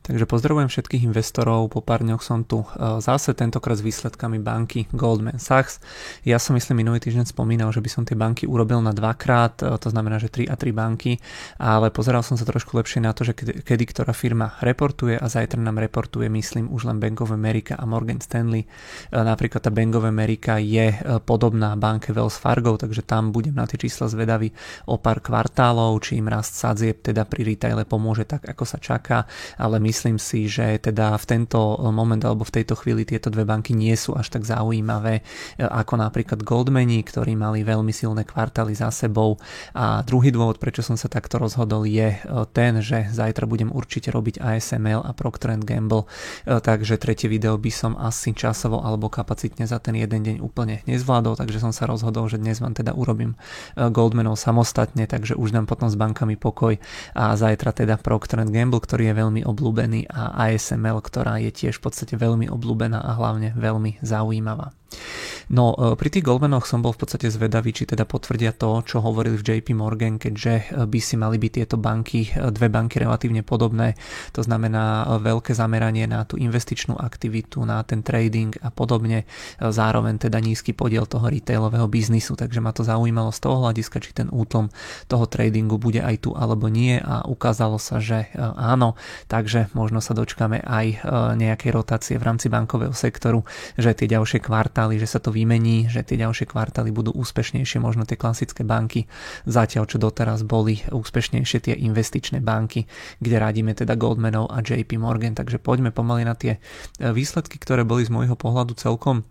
Takže pozdravujem všetkých investorov, po pár dňoch som tu zase tentokrát s výsledkami banky Goldman Sachs. Ja som myslím minulý týždeň spomínal, že by som tie banky urobil na dvakrát, to znamená, že 3 a 3 banky, ale pozeral som sa trošku lepšie na to, že kedy ktorá firma reportuje a zajtra nám reportuje, myslím, už len Bank of America a Morgan Stanley. Napríklad tá Bank of America je podobná banke Wells Fargo, takže tam budem na tie čísla zvedavý o pár kvartálov, či im rast sadzieb teda pri retaile pomôže tak, ako sa čaká, ale myslím si, že teda v tento moment alebo v tejto chvíli tieto dve banky nie sú až tak zaujímavé ako napríklad Goldmani, ktorí mali veľmi silné kvartály za sebou. A druhý dôvod, prečo som sa takto rozhodol, je ten, že zajtra budem určite robiť ASML a Procter & Gamble, takže tretie video by som asi časovo alebo kapacitne za ten jeden deň úplne nezvládol, takže som sa rozhodol, že dnes vám teda urobím Goldmanov samostatne, takže už dám potom s bankami pokoj a zajtra teda Procter & Gamble, ktorý je veľmi obľúbený, a ASML, ktorá je tiež v podstate veľmi obľúbená a hlavne veľmi zaujímavá. No, pri tých Goldmanoch som bol v podstate zvedavý, či teda potvrdia to, čo hovorili v JP Morgan, keďže by si mali byť tieto banky, dve banky relatívne podobné, to znamená veľké zameranie na tú investičnú aktivitu, na ten trading a podobne, zároveň teda nízky podiel toho retailového biznisu, takže ma to zaujímalo z toho hľadiska, či ten útlom toho tradingu bude aj tu alebo nie, a ukázalo sa, že áno, takže možno sa dočkáme aj nejakej rotácie v rámci bankového sektoru, že tie ďalšie kvartály, že sa to vymení, že tie ďalšie kvartály budú úspešnejšie, možno tie klasické banky, zatiaľ čo doteraz boli úspešnejšie tie investičné banky, kde radíme teda Goldmanov a JP Morgan. Takže poďme pomaly na tie výsledky, ktoré boli z môjho pohľadu celkom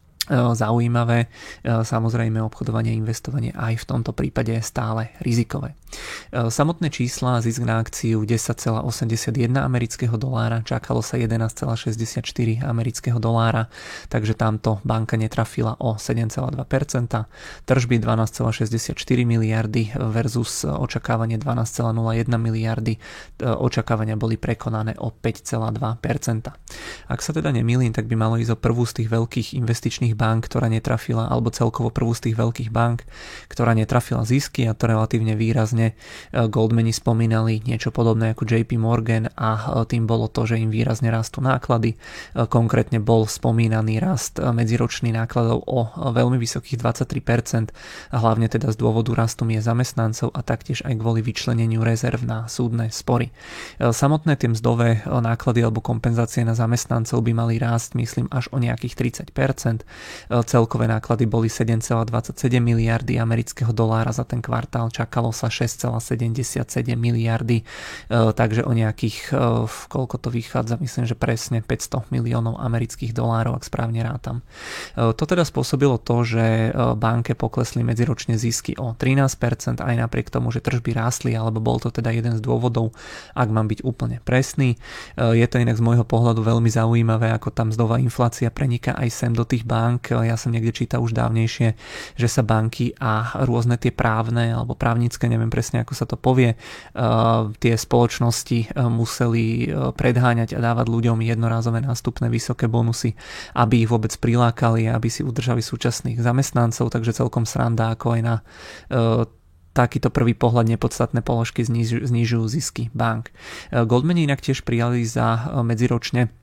zaujímavé. Samozrejme obchodovanie a investovanie aj v tomto prípade je stále rizikové. Samotné čísla, zisk na akciu 10,81 amerického dolára, čakalo sa 11,64 amerického dolára, takže tamto banka netrafila o 7,2%, tržby 12,64 miliardy versus očakávanie 12,01 miliardy, očakávania boli prekonané o 5,2%. Ak sa teda nemýlim, tak by malo ísť o prvú z tých veľkých investičných bank, ktorá netrafila, alebo celkovo prvú z tých veľkých bank, ktorá netrafila zisky, a to relatívne výrazne. Goldmani spomínali niečo podobné ako JP Morgan a tým bolo to, že im výrazne rastú náklady. Konkrétne bol spomínaný rast medziročný nákladov o veľmi vysokých 23%, a hlavne teda z dôvodu rastu miest zamestnancov a taktiež aj kvôli vyčleneniu rezerv na súdne spory. Samotné tie mzdové náklady alebo kompenzácie na zamestnancov by mali rásť, myslím, až o nejakých 30%. Celkové náklady boli 7,27 miliardy amerického dolára za ten kvartál, čakalo sa 6,77 miliardy, takže o nejakých, koľko to vychádza, myslím, že presne 500 miliónov amerických dolárov, ak správne rátam. To teda spôsobilo to, že banke poklesli medziročne zisky o 13%, aj napriek tomu, že tržby rástli, alebo bol to teda jeden z dôvodov, ak mám byť úplne presný. Je to inak z môjho pohľadu veľmi zaujímavé, ako tam mzdová inflácia preniká aj sem do tých bank. Ja som niekde čítal už dávnejšie, že sa banky a rôzne tie právne alebo právnické, neviem presne ako sa to povie, tie spoločnosti museli predháňať a dávať ľuďom jednorázové nástupné vysoké bonusy, aby ich vôbec prilákali, aby si udržali súčasných zamestnancov, takže celkom sranda, ako aj na takýto prvý pohľad nepodstatné položky znižujú zisky bank. Goldmani inak tiež prijali za medziročne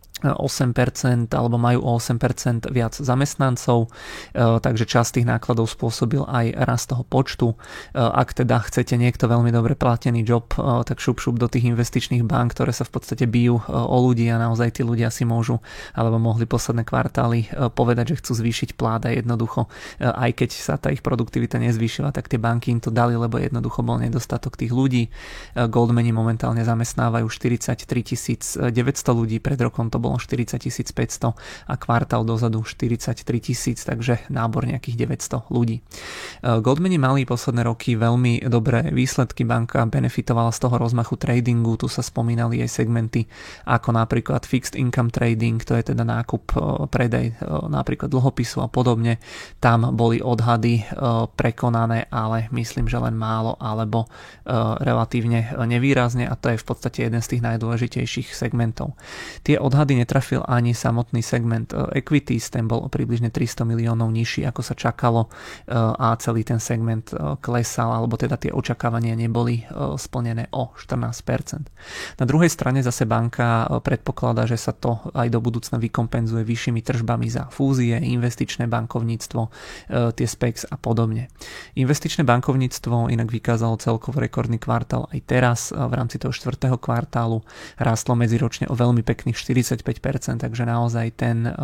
8% alebo majú o 8% viac zamestnancov, takže časť tých nákladov spôsobil aj rast toho počtu. Ak teda chcete niekto veľmi dobre platený job, tak šup do tých investičných bank, ktoré sa v podstate bijú o ľudí, a naozaj tí ľudia si môžu alebo mohli posledné kvartály povedať, že chcú zvýšiť plát, a jednoducho aj keď sa tá ich produktivita nezvýšila, tak tie banky im to dali, lebo jednoducho bol nedostatok tých ľudí. Goldmani momentálne zamestnávajú 43 900 ľudí, pred rokom to bolo 40 500 a kvartál dozadu 43 000, takže nábor nejakých 900 ľudí. Goldmani mali posledné roky veľmi dobré výsledky, banka benefitovala z toho rozmachu tradingu, tu sa spomínali aj segmenty ako napríklad fixed income trading, to je teda nákup, predaj napríklad dlhopisu a podobne. Tam boli odhady prekonané, ale myslím, že len málo alebo relatívne nevýrazne, a to je v podstate jeden z tých najdôležitejších segmentov. Tie odhady Pravdy netrafil ani samotný segment equities, ten bol o približne 300 miliónov nižší, ako sa čakalo, a celý ten segment klesal, alebo teda tie očakávania neboli splnené o 14%. Na druhej strane zase banka predpokladá, že sa to aj do budúcna vykompenzuje vyššími tržbami za fúzie, investičné bankovníctvo, tie specs a podobne. Investičné bankovníctvo inak vykázalo celkovo rekordný kvartál aj teraz. V rámci toho 4. kvartálu rástlo medziročne o veľmi pekných 45%, takže naozaj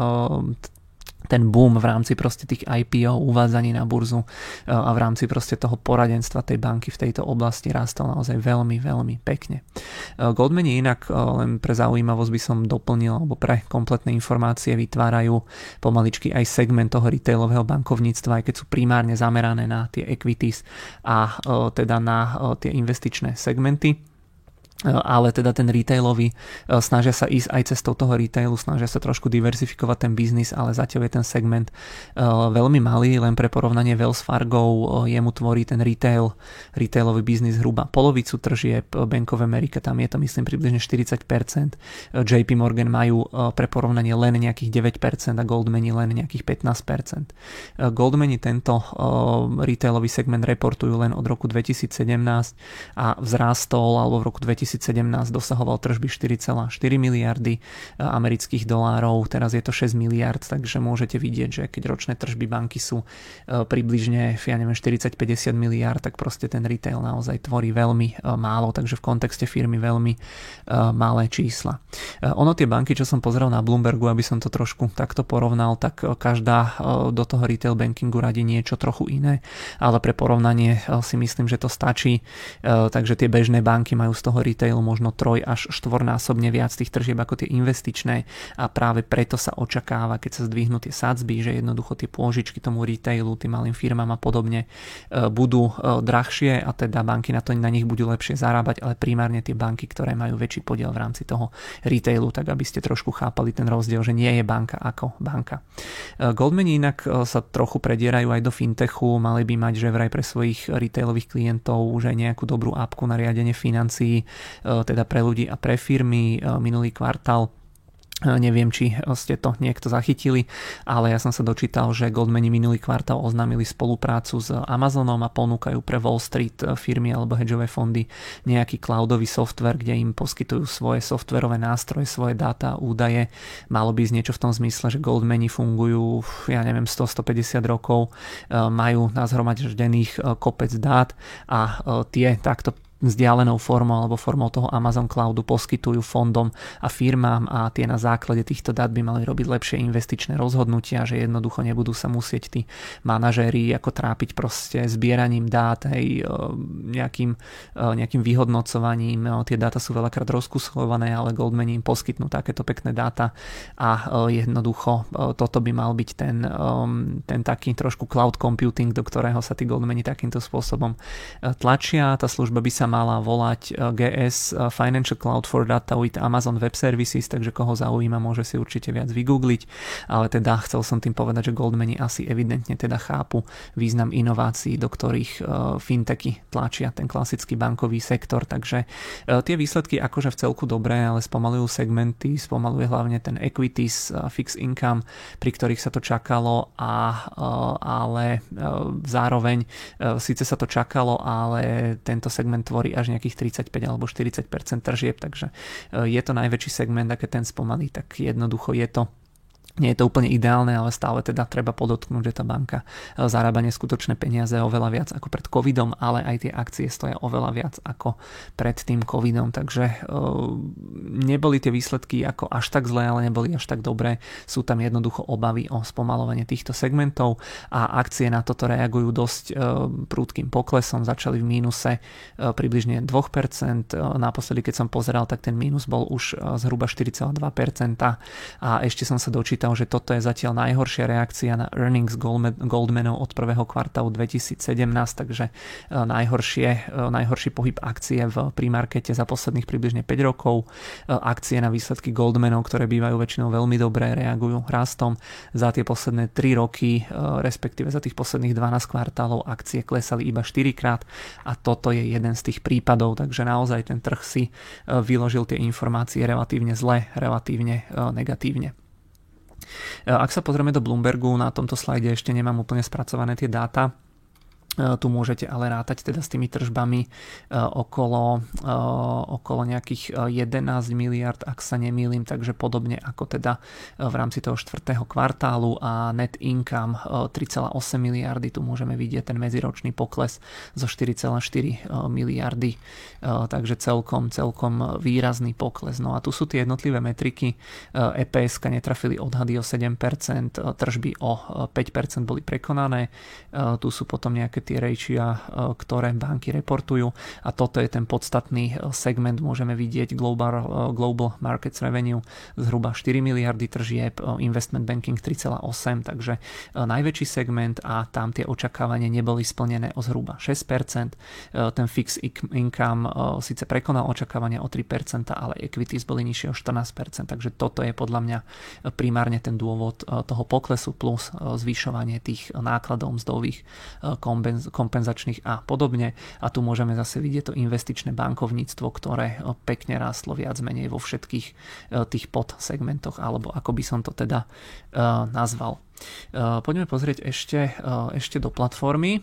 ten boom v rámci proste tých IPO, uvádzaní na burzu a v rámci proste toho poradenstva tej banky v tejto oblasti rástol naozaj veľmi, veľmi pekne. Goldmani inak, len pre zaujímavosť by som doplnil, alebo pre kompletné informácie vytvárajú pomaličky aj segment toho retailového bankovníctva, aj keď sú primárne zamerané na tie equities a teda na tie investičné segmenty. Ale teda ten retailový, snažia sa ísť aj cestou toho retailu, snažia sa trošku diverzifikovať ten biznis, ale zatiaľ je ten segment veľmi malý, len pre porovnanie Wells Fargo jemu tvorí ten retailový biznis hruba polovicu tržieb, Bank of America tam je to myslím približne 40%, JP Morgan majú pre porovnanie len nejakých 9% a Goldmani len nejakých 15%. Goldmani tento retailový segment reportujú len od roku 2017 a vzrástol, alebo v roku 2017 dosahoval tržby 4,4 miliardy amerických dolárov, teraz je to 6 miliard, takže môžete vidieť, že keď ročné tržby banky sú približne 40-50 miliard, tak proste ten retail naozaj tvorí veľmi málo, takže v kontexte firmy veľmi malé čísla. Ono tie banky, čo som pozeral na Bloombergu, aby som to trošku takto porovnal, tak každá do toho retail bankingu radí niečo trochu iné, ale pre porovnanie si myslím, že to stačí, takže tie bežné banky majú z toho retailu možno 3 až 4-násobne viac tých tržieb ako tie investičné a práve preto sa očakáva, keď sa zdvihnú tie sadzby, že jednoducho tie pôžičky tomu retailu, tým malým firmám a podobne budú drahšie a teda banky na nich budú lepšie zarábať, ale primárne tie banky, ktoré majú väčší podiel v rámci toho retailu, tak aby ste trošku chápali ten rozdiel, že nie je banka ako banka. Goldmani inak sa trochu predierajú aj do fintechu, mali by mať že vraj pre svojich retailových klientov už aj nejakú dobrú appku na riadenie financií, teda pre ľudí a pre firmy. Minulý kvartál, neviem, či ste to niekto zachytili, ale ja som sa dočítal, že Goldmani minulý kvartál oznámili spoluprácu s Amazonom a ponúkajú pre Wall Street firmy alebo hedžové fondy nejaký cloudový software, kde im poskytujú svoje softverové nástroje, svoje dáta a údaje. Malo by ísť niečo v tom zmysle, že Goldmani fungujú, 100-150 rokov, majú nazhromaždených kopec dát a tie takto vzdialenou formou alebo formou toho Amazon Cloudu poskytujú fondom a firmám a tie na základe týchto dát by mali robiť lepšie investičné rozhodnutia, že jednoducho nebudú sa musieť tí manažéri ako trápiť proste zbieraním dát, nejakým vyhodnocovaním. Tie dáta sú veľakrát rozkusované, ale Goldmani im poskytnú takéto pekné dáta a jednoducho toto by mal byť ten taký trošku cloud computing, do ktorého sa tí Goldmani takýmto spôsobom tlačia. Tá služba by sa mala volať GS Financial Cloud for Data with Amazon Web Services, takže koho zaujíma, môže si určite viac vygoogliť, ale teda chcel som tým povedať, že Goldmani asi evidentne teda chápu význam inovácií, do ktorých fintechy tlačia ten klasický bankový sektor, takže tie výsledky akože v celku dobré, ale spomalujú segmenty, spomaluje hlavne ten equities, fixed income, pri ktorých sa to čakalo, ale zároveň síce sa to čakalo, ale tento segment tvorí až nejakých 35 alebo 40% tržieb, takže je to najväčší segment a keď ten spomalí, tak jednoducho nie je to úplne ideálne, ale stále teda treba podotknúť, že tá banka zarába neskutočné peniaze oveľa viac ako pred covidom, ale aj tie akcie stoja oveľa viac ako pred tým covidom, takže neboli tie výsledky ako až tak zlé, ale neboli až tak dobré. Sú tam jednoducho obavy o spomalovanie týchto segmentov a akcie na toto reagujú dosť prudkým poklesom, začali v mínuse približne 2%, naposledy keď som pozeral, tak ten mínus bol už zhruba 4,2% a ešte som sa dočítal, počítal, že toto je zatiaľ najhoršia reakcia na earnings Goldmanov od prvého kvartálu 2017, takže najhorší pohyb akcie v pre-markete za posledných približne 5 rokov. Akcie na výsledky Goldmanov, ktoré bývajú väčšinou veľmi dobré, reagujú rastom. Za tie posledné 3 roky, respektíve za tých posledných 12 kvartálov akcie klesali iba 4 krát a toto je jeden z tých prípadov, takže naozaj ten trh si vyložil tie informácie relatívne zle, relatívne negatívne. Ak sa pozrieme do Bloombergu, na tomto slajde ešte nemám úplne spracované tie dáta. Tu môžete ale rátať teda s tými tržbami okolo nejakých 11 miliard, ak sa nemýlim, takže podobne ako teda v rámci toho 4. kvartálu a net income 3,8 miliardy, tu môžeme vidieť ten medziročný pokles zo 4,4 miliardy, takže celkom výrazný pokles. No a tu sú tie jednotlivé metriky, EPS-ka netrafili odhady o 7%, tržby o 5% boli prekonané, tu sú potom nejaké tie rejčia, ktoré banky reportujú a toto je ten podstatný segment, môžeme vidieť Global Markets Revenue zhruba 4 miliardy tržieb, Investment Banking 3,8, takže najväčší segment a tam tie očakávania neboli splnené o zhruba 6%, ten Fixed Income síce prekonal očakávania o 3%, ale equities boli nižšie o 14%, takže toto je podľa mňa primárne ten dôvod toho poklesu plus zvyšovanie tých nákladov mzdových, kompenzačných a podobne. A tu môžeme zase vidieť to investičné bankovníctvo, ktoré pekne rástlo viac menej vo všetkých tých podsegmentoch, alebo ako by som to teda nazval. Poďme pozrieť ešte do platformy.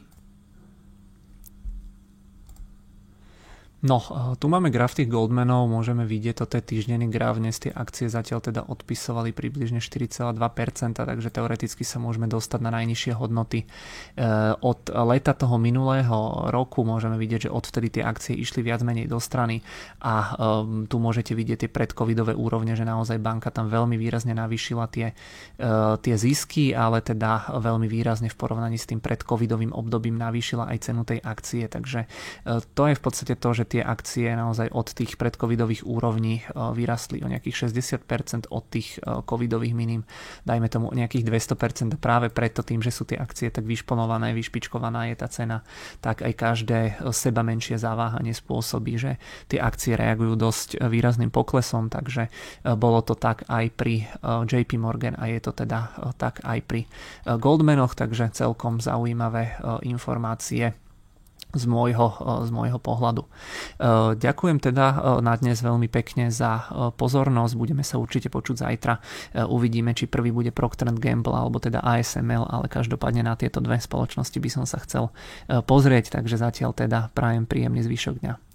No, tu máme graf tých Goldmanov, môžeme vidieť, toto je týždenný graf, dnes tie akcie zatiaľ teda odpisovali približne 4,2%, takže teoreticky sa môžeme dostať na najnižšie hodnoty. Od leta toho minulého roku môžeme vidieť, že odvtedy tie akcie išli viac menej do strany a tu môžete vidieť tie predcovidové úrovne, že naozaj banka tam veľmi výrazne navýšila tie zisky, ale teda veľmi výrazne v porovnaní s tým predcovidovým obdobím navýšila aj cenu tej akcie, takže to je v podstate to, že tie akcie naozaj od tých predcovidových úrovní vyrastli o nejakých 60% od tých covidových minim, dajme tomu nejakých 200%, práve preto tým, že sú tie akcie tak vyšponované, vyšpičkovaná je tá cena, tak aj každé seba menšie zaváhanie spôsobí, že tie akcie reagujú dosť výrazným poklesom, takže bolo to tak aj pri JP Morgan a je to teda tak aj pri Goldmanoch, takže celkom zaujímavé informácie z môjho pohľadu. Ďakujem teda na dnes veľmi pekne za pozornosť, budeme sa určite počuť zajtra, uvidíme, či prvý bude Procter & Gamble alebo teda ASML, ale každopádne na tieto dve spoločnosti by som sa chcel pozrieť, takže zatiaľ teda prajem príjemný zvyšok dňa.